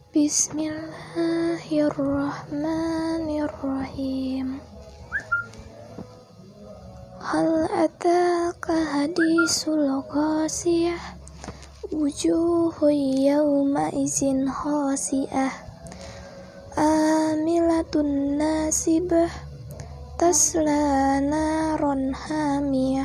Bismillahirrahmanirrahim. Hal ataka hadisul ghasiyah, wujuhu yawma izin khasiyah, amilatun nasibah, tasla naron hamiyah,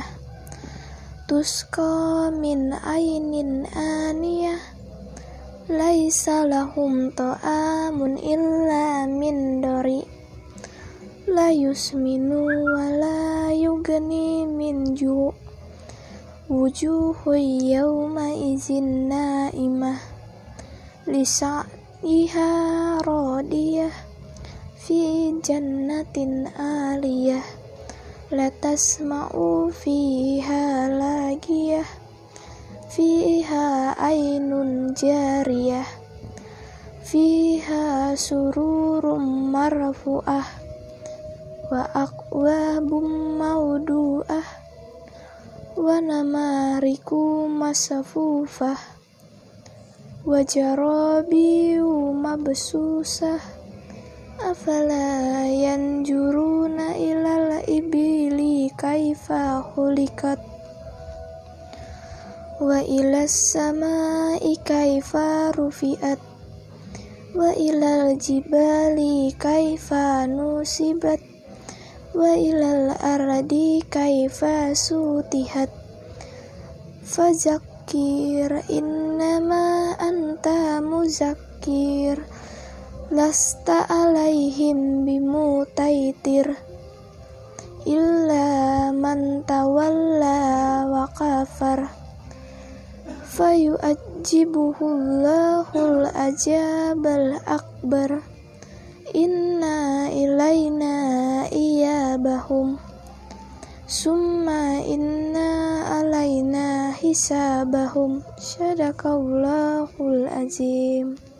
tusqa min ainin aniyah, laisa lahum ta'amun illa min dari, la yusminu wa la yugni min ju', wujuhu yawma izin naimah, lisa'yiha radiyah, fi jannatin aliyah, la tasma'u fiha lagiyah, fiha ainun jariyah, fiha sururum marfu'ah, wa akwabum mawdu'ah, wa namariku masafufah, wa jarabiyu mabsusah, afala yanjuruna ilal ibili kaifa khuliqat, wa ilas samai kaifa rufi'at, wa ilal jibali kaifa nusibat, wa ilal ardi kaifa sutihat, fazakir innama anta muzakkir, lasta alaihim bimutaitir, illa man tawalla wa kafar, fayu'ajibuhullahul ajabal akbar, inna ilayna iyabahum, summa inna alayna hisabahum. Sadaqallahul azim.